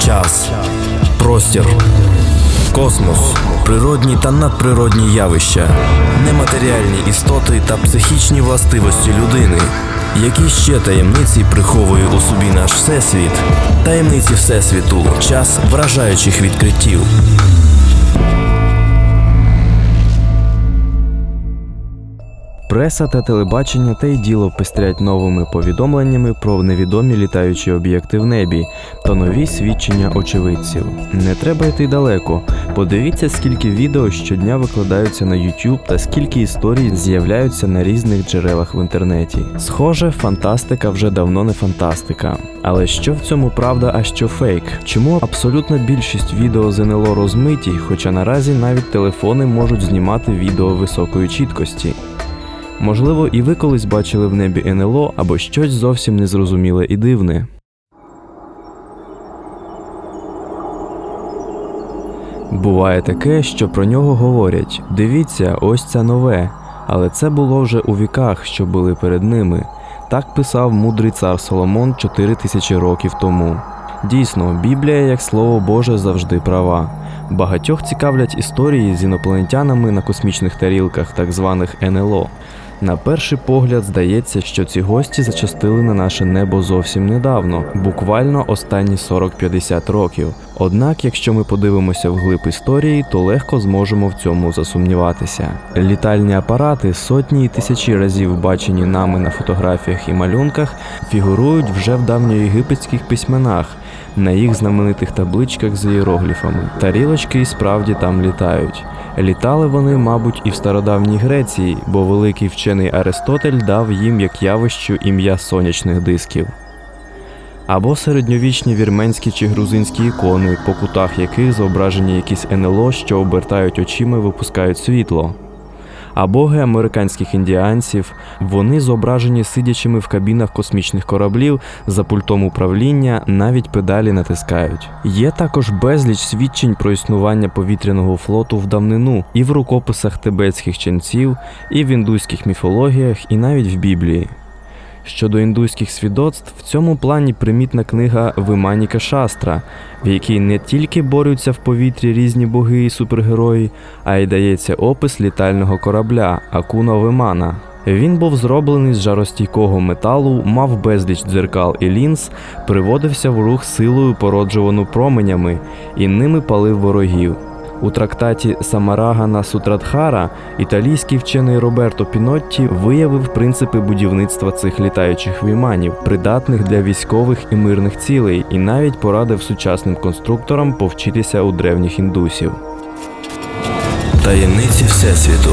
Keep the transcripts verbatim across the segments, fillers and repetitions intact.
час, простір, космос, природні та надприродні явища, нематеріальні істоти та психічні властивості людини. Які ще таємниці приховує у собі наш Всесвіт? Таємниці Всесвіту. Час вражаючих відкриттів. Преса та телебачення та й діло пестрять новими повідомленнями про невідомі літаючі об'єкти в небі та нові свідчення очевидців. Не треба йти далеко. Подивіться, скільки відео щодня викладаються на YouTube та скільки історій з'являються на різних джерелах в інтернеті. Схоже, фантастика вже давно не фантастика. Але що в цьому правда, а що фейк? Чому абсолютна більшість відео з ен ел о розмиті, хоча наразі навіть телефони можуть знімати відео високої чіткості? Можливо, і ви колись бачили в небі ен ел о або щось зовсім незрозуміле і дивне. Буває таке, що про нього говорять: дивіться, ось це нове, але це було вже у віках, що були перед ними. Так писав мудрий цар Соломон чотири тисячі років тому. Дійсно, Біблія, як Слово Боже, завжди права. Багатьох цікавлять історії з інопланетянами на космічних тарілках, так званих ен ел о. На перший погляд здається, що ці гості зачастили на наше небо зовсім недавно, буквально останні сорок-п'ятдесят років. Однак, якщо ми подивимося вглиб історії, то легко зможемо в цьому засумніватися. Літальні апарати, сотні і тисячі разів бачені нами на фотографіях і малюнках, фігурують вже в давньоєгипетських письменах, на їх знаменитих табличках з іерогліфами. Тарілочки і справді там літають. Літали вони, мабуть, і в стародавній Греції, бо великий вчений Аристотель дав їм як явищу ім'я сонячних дисків. Або середньовічні вірменські чи грузинські ікони, по кутах яких зображені якісь ен ел о, що обертають очима і випускають світло. А боги американських індіанців, вони зображені сидячими в кабінах космічних кораблів, за пультом управління, навіть педалі натискають. Є також безліч свідчень про існування повітряного флоту в давнину і в рукописах тибетських ченців, і в індуських міфологіях, і навіть в Біблії. Щодо індуських свідоцтв, в цьому плані примітна книга Виманіка Шастра, в якій не тільки борються в повітрі різні боги і супергерої, а й дається опис літального корабля Акуна Вимана. Він був зроблений з жаростійкого металу, мав безліч дзеркал і лінз, приводився в рух силою, породжувану променями, і ними палив ворогів. У трактаті Самарагана Сутрадхара італійський вчений Роберто Пінотті виявив принципи будівництва цих літаючих віманів, придатних для військових і мирних цілей, і навіть порадив сучасним конструкторам повчитися у древніх індусів. Таємниці Всесвіту.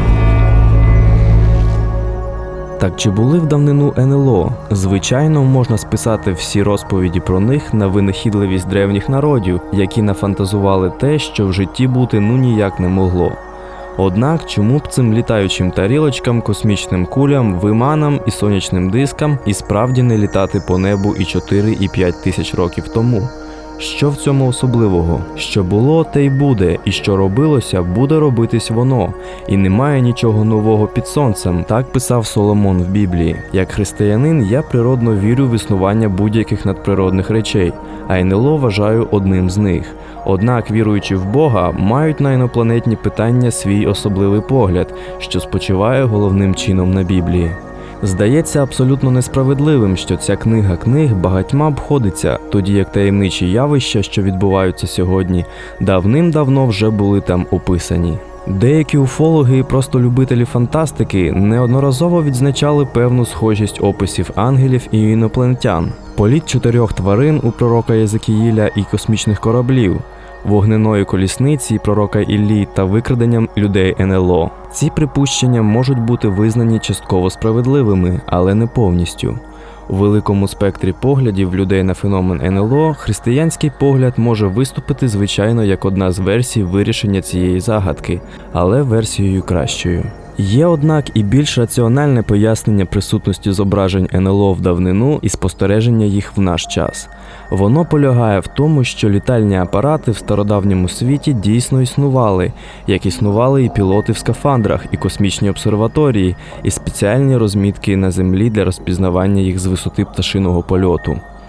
Так чи були в давнину ен ел о? Звичайно, можна списати всі розповіді про них на винахідливість древніх народів, які нафантазували те, що в житті бути ну ніяк не могло. Однак, чому б цим літаючим тарілочкам, космічним кулям, виманам і сонячним дискам і справді не літати по небу і чотири, і п'ять тисяч років тому? Що в цьому особливого? Що було, те й буде, і що робилося, буде робитись воно. І немає нічого нового під сонцем, так писав Соломон в Біблії. Як християнин, я природно вірю в існування будь-яких надприродних речей, а ен ел о вважаю одним з них. Однак, віруючи в Бога, мають на інопланетні питання свій особливий погляд, що спочиває головним чином на Біблії. Здається абсолютно несправедливим, що ця книга книг багатьма обходиться, тоді як таємничі явища, що відбуваються сьогодні, давним-давно вже були там описані. Деякі уфологи і просто любителі фантастики неодноразово відзначали певну схожість описів ангелів і інопланетян, політ чотирьох тварин у пророка Єзекіїля і космічних кораблів, вогненої колісниці пророка Іллі та викраденням людей ен ел о. Ці припущення можуть бути визнані частково справедливими, але не повністю. У великому спектрі поглядів людей на феномен ен ел о християнський погляд може виступити, звичайно, як одна з версій вирішення цієї загадки, але версією кращою. Є, однак, і більш раціональне пояснення присутності зображень ен ел о в давнину і спостереження їх в наш час. Воно полягає в тому, що літальні апарати в стародавньому світі дійсно існували, як існували і пілоти в скафандрах, і космічні обсерваторії, і спеціальні розмітки на землі для розпізнавання їх з висоти пташиного польоту.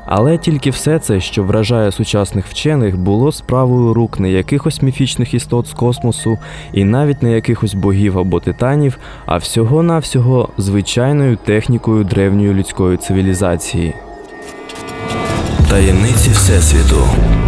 Але тільки все це, що вражає сучасних вчених, було справою рук не якихось міфічних істот з космосу і навіть не якихось богів або титанів, а всього-навсього звичайною технікою древньої людської цивілізації. Таємниці Всесвіту.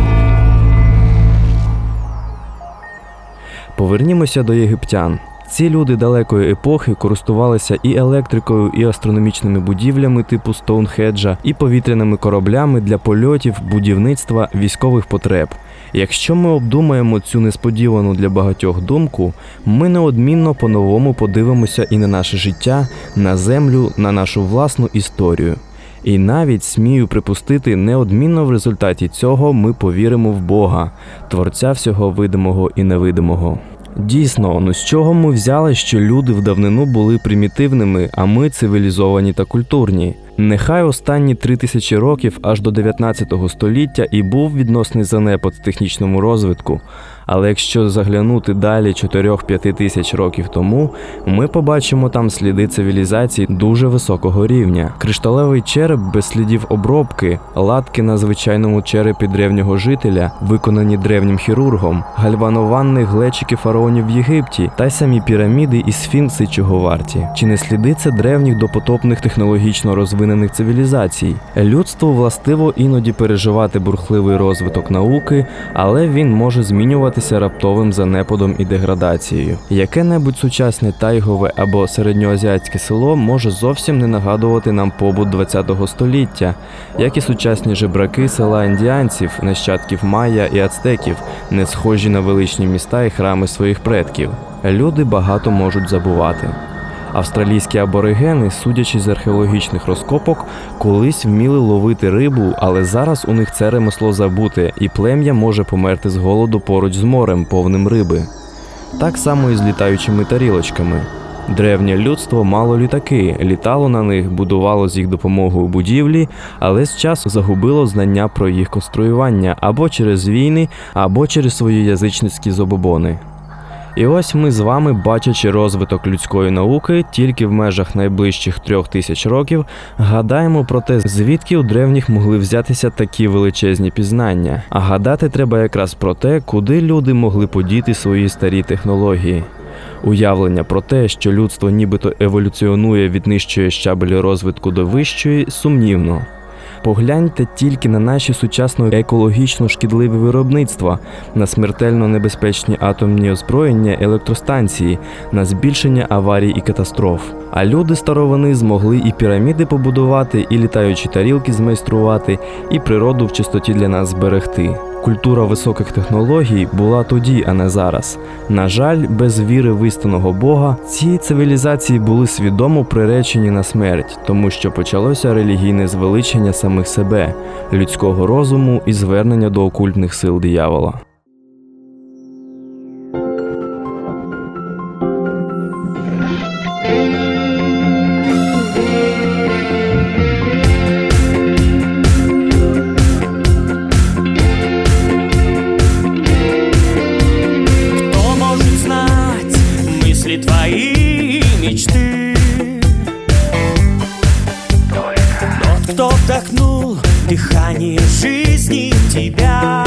Повернімося до єгиптян. Ці люди далекої епохи користувалися і електрикою, і астрономічними будівлями типу Стоунхеджа, і повітряними кораблями для польотів, будівництва, військових потреб. Якщо ми обдумаємо цю несподівану для багатьох думку, ми неодмінно по-новому подивимося і на наше життя, на землю, на нашу власну історію. І навіть, смію припустити, неодмінно в результаті цього ми повіримо в Бога, Творця всього видимого і невидимого. Дійсно, ну з чого ми взяли, що люди в давнину були примітивними, а ми цивілізовані та культурні? Нехай останні три тисячі років аж до дев'ятнадцятого століття і був відносний занепад в технічному розвитку, але якщо заглянути далі чотири-п'ять тисяч років тому, ми побачимо там сліди цивілізації дуже високого рівня. Кришталевий череп без слідів обробки, латки на звичайному черепі древнього жителя, виконані древнім хірургом, гальвановані глечики фараонів в Єгипті та й самі піраміди і сфінкси чого варті. Чи не сліди це древніх допотопних технологічно розвинених цивілізацій? Людству властиво іноді переживати бурхливий розвиток науки, але він може змінювати раптовим занепадом і деградацією. Яке-небудь сучасне тайгове або середньоазіатське село може зовсім не нагадувати нам побут ХХ століття, як і сучасні жебраки села індіанців, нащадків майя і ацтеків, не схожі на величні міста і храми своїх предків. Люди багато можуть забувати. Австралійські аборигени, судячи з археологічних розкопок, колись вміли ловити рибу, але зараз у них це ремесло забуте, і плем'я може померти з голоду поруч з морем, повним риби. Так само і з літаючими тарілочками. Древнє людство мало літаки, літало на них, будувало з їх допомогою будівлі, але з часу загубило знання про їх конструювання або через війни, або через свої язичницькі забобони. І ось ми з вами, бачачи розвиток людської науки тільки в межах найближчих трьох тисяч років, гадаємо про те, звідки у древніх могли взятися такі величезні пізнання. А гадати треба якраз про те, куди люди могли подіти свої старі технології. Уявлення про те, що людство нібито еволюціонує від нижчої щабелі розвитку до вищої, сумнівно. Погляньте тільки на наші сучасно екологічно шкідливі виробництва, на смертельно небезпечні атомні озброєння, електростанції, на збільшення аварій і катастроф. А люди старовини змогли і піраміди побудувати, і літаючі тарілки змайструвати, і природу в чистоті для нас зберегти. Культура високих технологій була тоді, а не зараз. На жаль, без віри в істинного Бога, ці цивілізації були свідомо приречені на смерть, тому що почалося релігійне звеличення самих себе, людського розуму і звернення до окультних сил диявола. Твои мечты. Тот, кто вдохнул дыхание жизни в тебя.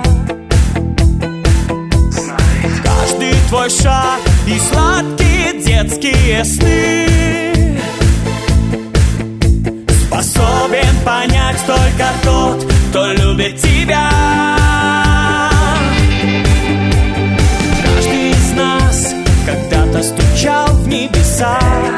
Каждый твой шаг и сладкие детские сны способен понять только тот, кто любит тебя. Каждый из нас когда-то стучал в небеса,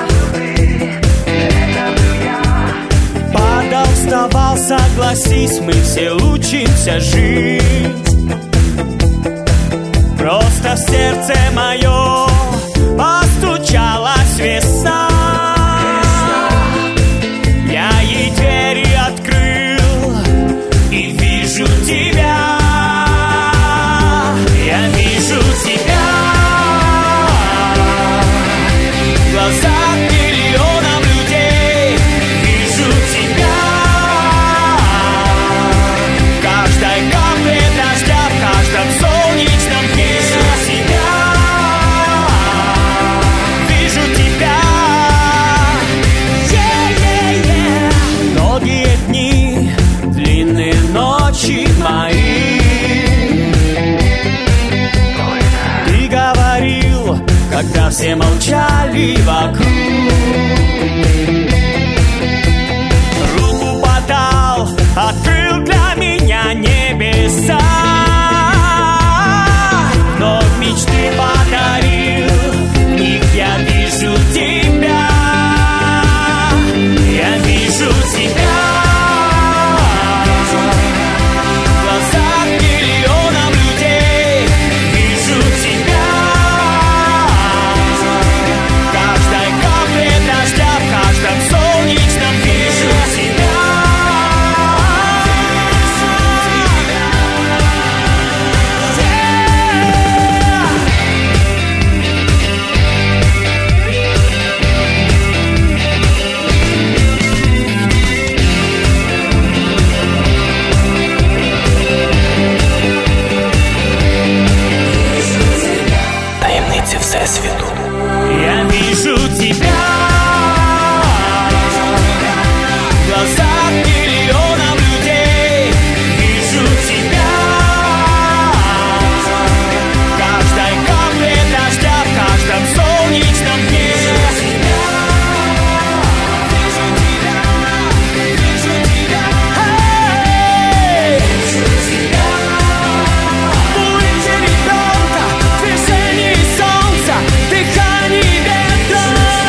падал, вставал, согласись, мы все учимся жить. Просто в сердце мое постучалась весна. Я ей двери открыл и вижу тебя. Я вижу тебя. В глазах миллионов людей вижу тебя. В каждой капле дождя, в каждом солнечном вижу тебя. ночи мои. Ты говорил, когда все молчали вокруг, руку подал, открыл для меня небеса, вновь мечты подарил, в них я вижу тебя, я вижу тебя. В глазах миллионов людей вижу тебя. В каждой капле дождя, в каждом солнечном вижу тебя. Таємниці Всесвіту. Я вижу тебя. В глазах миллионов людей вижу тебя. В каждой капле дождя, в каждом солнечном дне. Эй! В улыбке ребенка, в движении солнца, в дыхании ветра.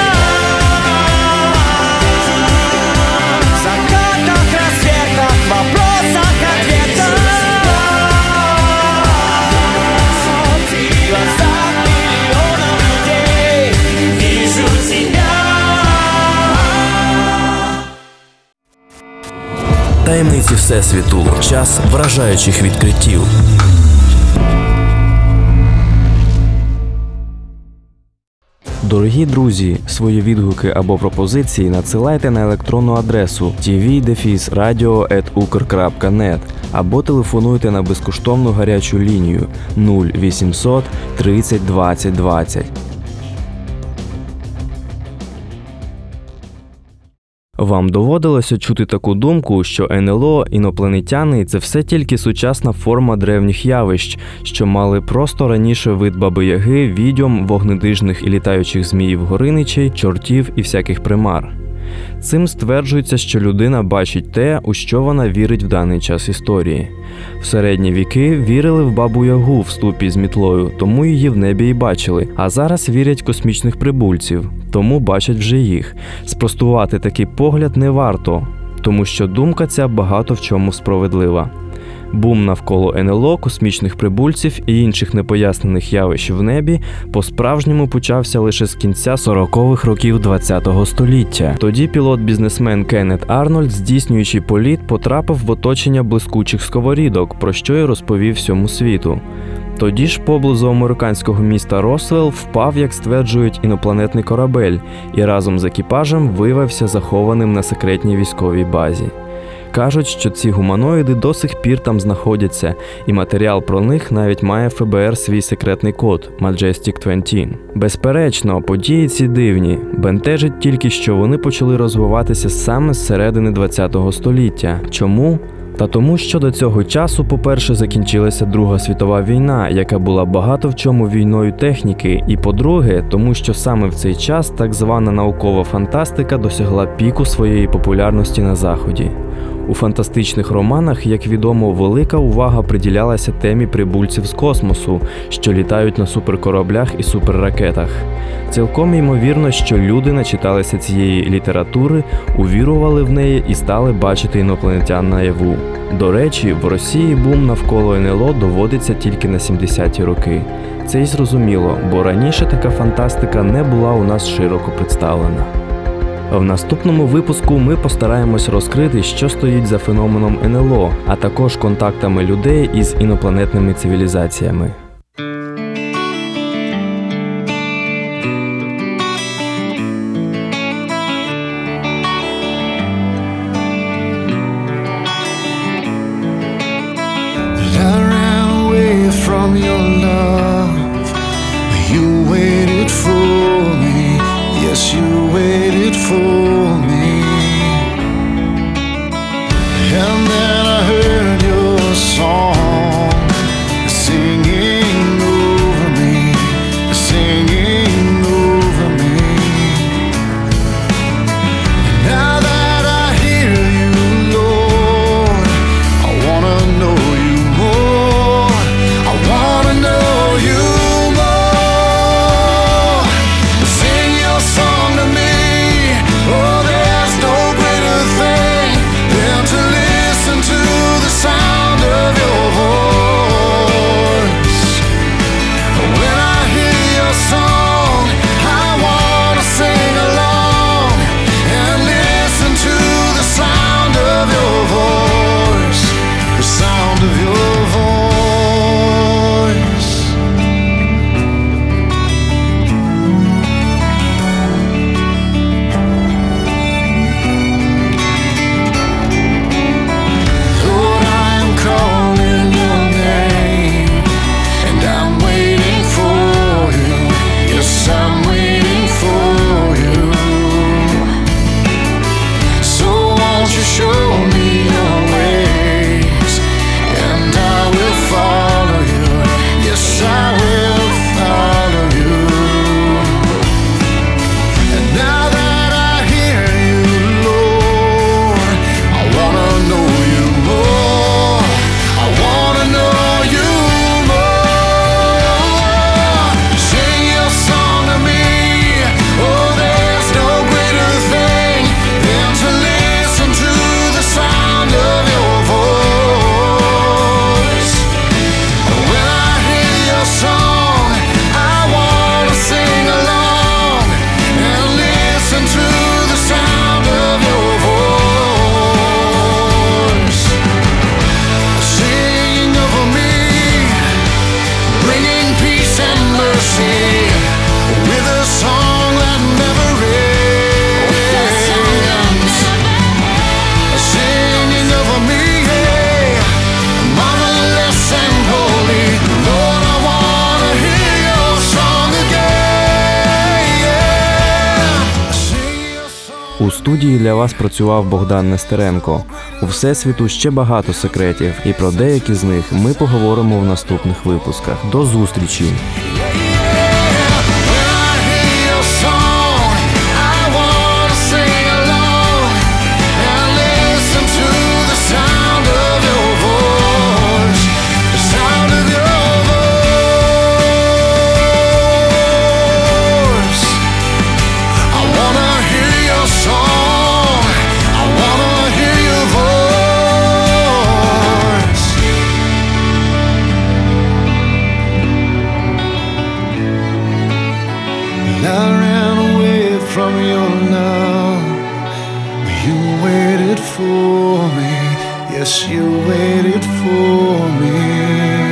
В закатах, рассветах, вопросах, ответах. В глазах миллионов людей вижу тебя. Таємниці Всесвіту. Час вражаючих відкриттів. Дорогі друзі, свої відгуки або пропозиції надсилайте на електронну адресу ті ві дефіс радіо ет укр крапка нет або телефонуйте на безкоштовну гарячу лінію нуль вісімсот тридцять двадцять двадцять. Вам доводилося чути таку думку, що ен ел о, інопланетяни – це все тільки сучасна форма древніх явищ, що мали просто раніше вид баби-яги, відьом, вогнедижних і літаючих зміїв-гориничей, чортів і всяких примар. Цим стверджується, що людина бачить те, у що вона вірить в даний час історії. В середні віки вірили в бабу-ягу в ступі з мітлою, тому її в небі і бачили, а зараз вірять в космічних прибульців, тому бачать вже їх. Спростувати такий погляд не варто, тому що думка ця багато в чому справедлива. Бум навколо ен ел о, космічних прибульців і інших непояснених явищ в небі по-справжньому почався лише з кінця сорокових років ХХ століття. Тоді пілот-бізнесмен Кеннет Арнольд, здійснюючи політ, потрапив в оточення блискучих сковорідок, про що й розповів всьому світу. Тоді ж поблизу американського міста Росвелл впав, як стверджують, інопланетний корабель і разом з екіпажем виявився захованим на секретній військовій базі. Кажуть, що ці гуманоїди до сих пір там знаходяться, і матеріал про них навіть має еф бе ер свій секретний код – Majestic двадцять. Безперечно, події ці дивні. Бентежить тільки, що вони почали розвиватися саме з середини ХХ століття. Чому? Та тому, що до цього часу, по-перше, закінчилася Друга світова війна, яка була багато в чому війною техніки, і по-друге, тому що саме в цей час так звана наукова фантастика досягла піку своєї популярності на Заході. У фантастичних романах, як відомо, велика увага приділялася темі прибульців з космосу, що літають на суперкораблях і суперракетах. Цілком ймовірно, що люди начиталися цієї літератури, увірували в неї і стали бачити інопланетян наяву. До речі, в Росії бум навколо ен ел о доводиться тільки на сімдесяті роки. Це й зрозуміло, бо раніше така фантастика не була у нас широко представлена. В наступному випуску ми постараємось розкрити, що стоїть за феноменом ен ел о, а також контактами людей із інопланетними цивілізаціями. From your love, you waited for me. Yes, you waited for me. And then I heard your У студії для вас працював Богдан Нестеренко. У Всесвіту ще багато секретів, і про деякі з них ми поговоримо в наступних випусках. До зустрічі! I ran away from your love. You waited for me. Yes, you waited for me.